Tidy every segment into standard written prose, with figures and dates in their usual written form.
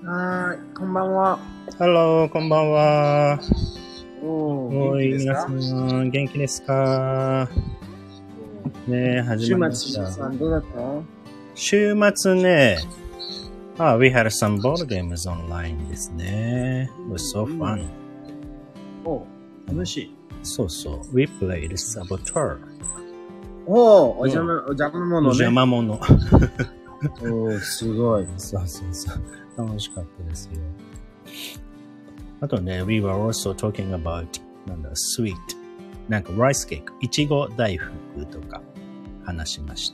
はい、こんばんは。 ハロー、こんばんは。 元気ですか？ 皆さん、元気ですか？ね、始まりました。 週末、どうだった？ 週末ね、we had some board games online ですね。It was so fun. 楽しい。 そうそう。We played Saboteur. お邪魔者ね。 邪魔者。 すごい。 そうそうそう。楽しかったですよ。あとね、we were also talking about, sweet. なんか、ライスケーク、いちご大福とか話しました。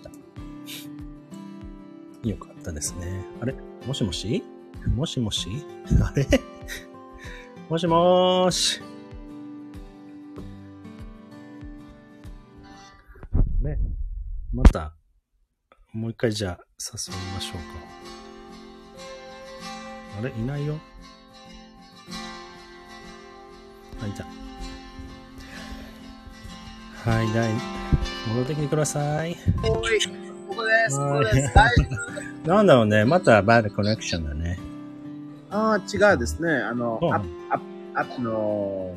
よかったですね。あれもしもしもしもしあれもしもーし。あれまた、もう一回じゃあ誘いましょうか。あれいないよ。あ、いた。はい、戻ってきてください。 ここです。 なんだろうね、またバッドコネクションだね。 違うですね。アップの、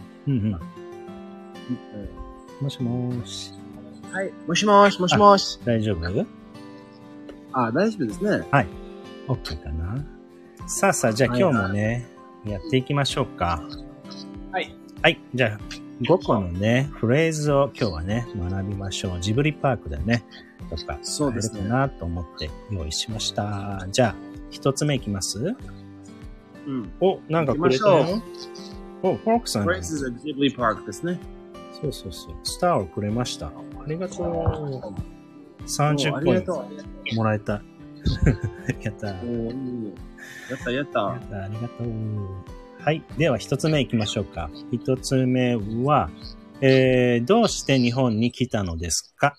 もしもーし。 はい、もしもし。 大丈夫？ 大丈夫ですね。 はい。OK かな。さあ、じゃあ今日もね、やっていきましょうか。 はい。 はい。じゃあ、5個のね、フレーズを今日はね、学びましょう。ジブリパークでね、とか、 そうですね。 かなと思って用意しました。じゃあ、一つ目いきます？なんかくれたよ。フォークさん。 フレーズはジブリパークですね。 そう。スターをくれました。ありがとう。30ポイントもらえた。やった。 やった。 ありがとう。はい。では、一つ目行きましょうか。一つ目は、どうして日本に来たのですか？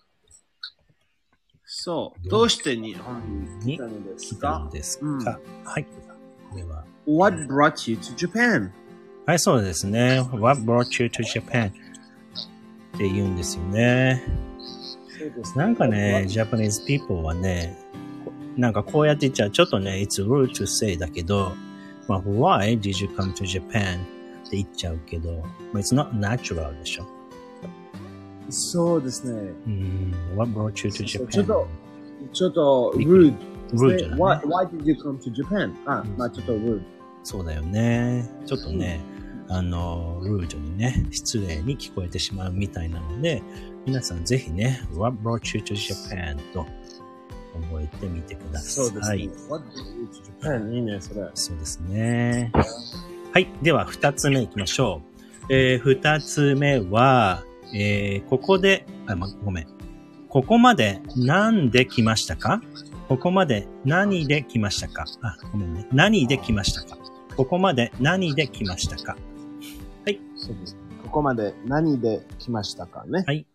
そう。どうして日本に来たのですか？ はい。これは。 What brought you to Japan? はい、そうですね。What brought you to Japan? って言うんですよね。なんかね、Japanese people はね、なんかこうやって言っちゃう。ちょっとね、it's rude to say だけど、まあ、why did you come to Japan? って言っちゃうけど、まあ、it's not natural でしょ。 そうですね。 What brought you to Japan? ちょっと rude。 rude だね。 Why did you come to Japan? まあちょっと rude。 そうだよね。ちょっとね、ルードにね、失礼に聞こえてしまうみたいなので、皆さんぜひね、What brought you to Japan? と覚えてみてください。 そうですね。What brought you to Japan? いいね、それ。 そうですね。はい。では、二つ目いきましょう。二つ目は、ここで、ごめん。ここまで何で来ましたか？ここまで何で来ましたか？ごめんね。何で来ましたか？ここまで何で来ましたか？はい。 そうです。ここまで何で来ましたかね。 はい。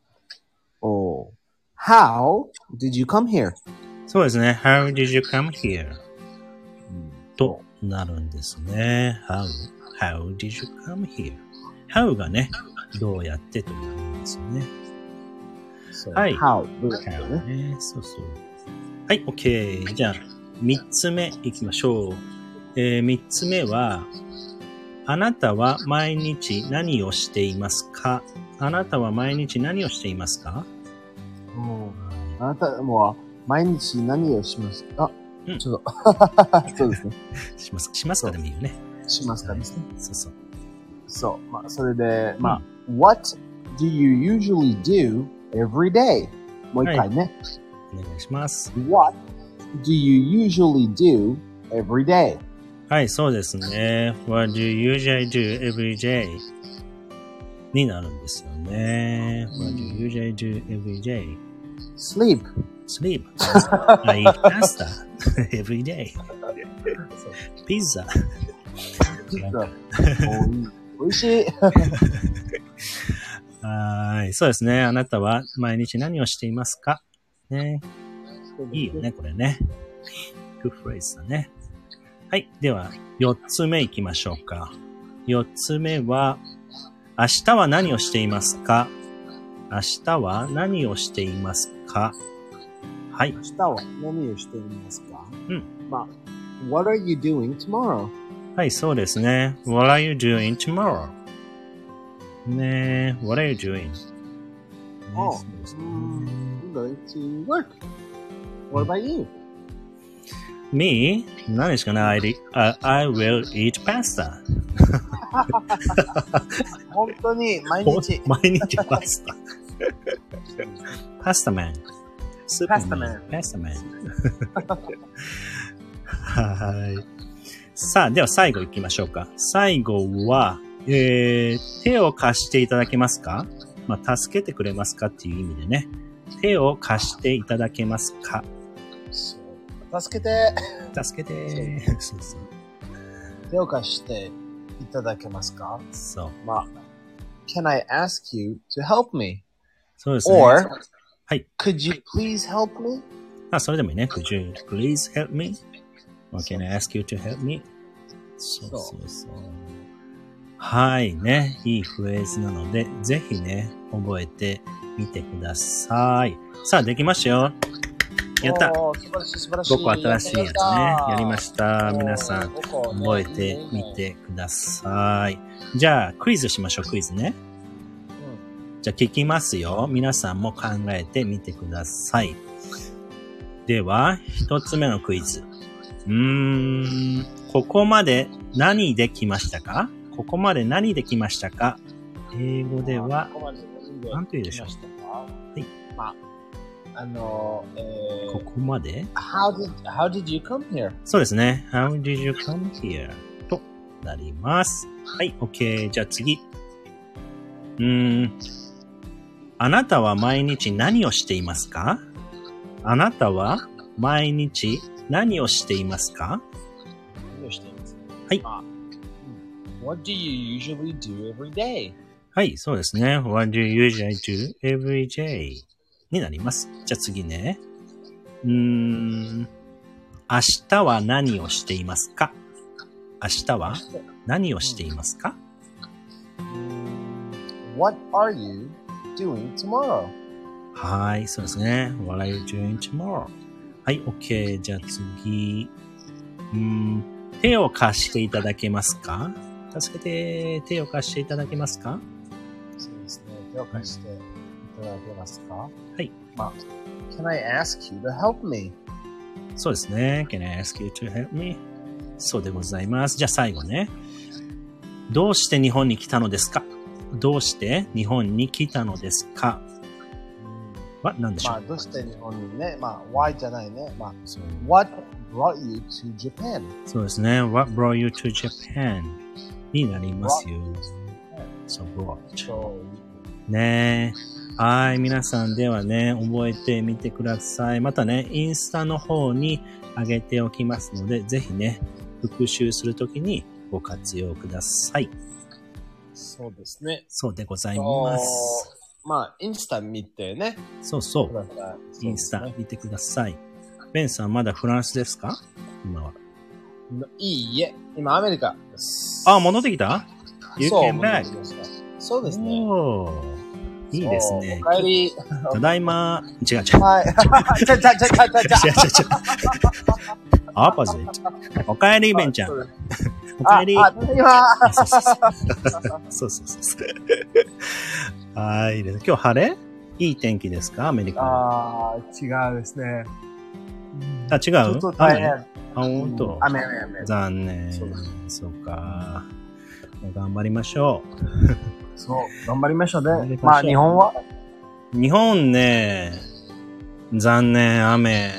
How did you come here? そうですね。How did you come here? となるんですね。How did you come here? How がね、どうやってという意味ですよね。はい。 How どうやってね。 そう。はい、OK。じゃあ、三つ目いきましょう。三つ目は、あなたは毎日何をしていますか？あなたは毎日何をしていますか？ あなたも毎日何をしますか？ちょっと、そうですね。 しますかでもいいよね。 しますかですね。 そう。 まあ、それで、What do you usually do every day? もう一回ね。 お願いします。 What do you usually do every day? はい、そうですね。What do you usually do every day? になるんですよね。What do you usually do every day? Sleep. I eat pasta every day. Pizza. 美味しい。 はい。そうですね。あなたは毎日何をしていますか？ね。いいよね、これね。Good phrase だね。はい。では、4つ目いきましょうか。4つ目は、明日は何をしていますか？明日は何をしていますか？はい。 明日は何をしていますか？まあ、 What are you doing tomorrow? はい、そうですね。What are you doing tomorrow? ねえ、What are you doing? Oh, そうですね I'm going to work. What about you? Me? 何ですかね I will eat pasta. 本当に毎日。 毎日パスタ。パスタマン。スーパーマン。パスタマン。はい。さあ、では最後行きましょうか。最後は、手を貸していただけますか？まあ、助けてくれますかっていう意味でね。手を貸していただけますか？ 助けて。 助けて。そうそう。 手を貸していただけますか？ そう。 まあ、Can I ask you to help me? そうですね。 Or, はい。 Could you please help me? あ、それでもいいね。Could you please help me? Or can I ask you to help me? そうそうそう。はい。ね。いいフレーズなので、ぜひね、覚えてみてください。さあ、できましたよ。やった。 素晴らしい素晴らしい。 5個新しいやつね。やりました。皆さん、覚えてみてください。じゃあ、クイズしましょう。クイズね。じゃあ、聞きますよ。皆さんも考えてみてください。では、一つ目のクイズ。ここまで何できましたか？ここまで何できましたか？英語では、何と言うでしょう？はい。まあ、ここまで How did you come here? そうですね。How did you come here? となります。はい、OK。じゃあ次。あなたは毎日何をしていますか？あなたは毎日何をしていますか？ 何をしていますか？ はい。 What do you usually do every day? はい、そうですね。What do you usually do every day? になります。じゃあ次ね。明日は何をしていますか？明日は何をしていますか？ What are you doing tomorrow? はい、そうですね。What are you doing tomorrow? はい、OK。じゃあ次。手を貸していただけますか？助けて、手を貸していただけますか？ そうですね。手を貸していただけますか？ はい。 まあ、Can I ask you to help me? そうですね。Can I ask you to help me? そうでございます。じゃあ最後ね。どうして日本に来たのですか？どうして日本に来たのですか？は何でしょう？ まあ、どうして日本にね。まあ、why じゃないね。まあ、What brought you to Japan? そうですね。What brought you to Japan? になりますよ。So brought. ねえ。はい。皆さんではね、覚えてみてください。またね、インスタの方に上げておきますので、ぜひね、復習するときにご活用ください。 そうですね。 そうでございます。 まあ、インスタ見てね。 そうそう。インスタ見てください。ベンさんまだフランスですか？今は。 いいえ。今アメリカです。 あ、戻ってきた？ You came back. そうですね。 いいですね。 お帰り。 ただいま。違う。 はい。違う。 オポジット。お帰り、ベンちゃん。お帰り。そう。はい。今日晴れ？いい天気ですか？アメリカ。 違うですね。 あ、違う？ ちょっと大変。 本当。 雨。 残念。そうか。頑張りましょう。 そう、頑張りましょうね。まあ、日本は？ 日本ね、残念、雨。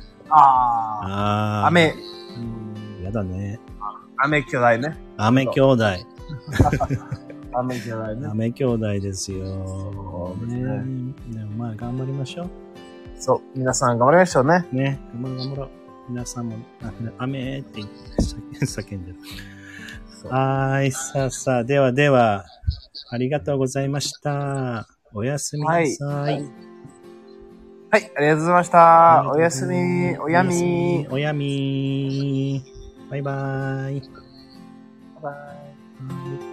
雨。 やだね。 雨兄弟ね。 雨兄弟。 雨兄弟ね。 雨兄弟ですよ。 そうですね。 でもまあ、頑張りましょう。 そう、皆さん頑張りましょうね。 ね、頑張ろう。皆さんも、雨って叫んでる。はい、さあ、では、ありがとうございました。おやすみなさい。はい、 ありがとうございました。おやすみ、おやみ。 バイバイ。 バイバイ。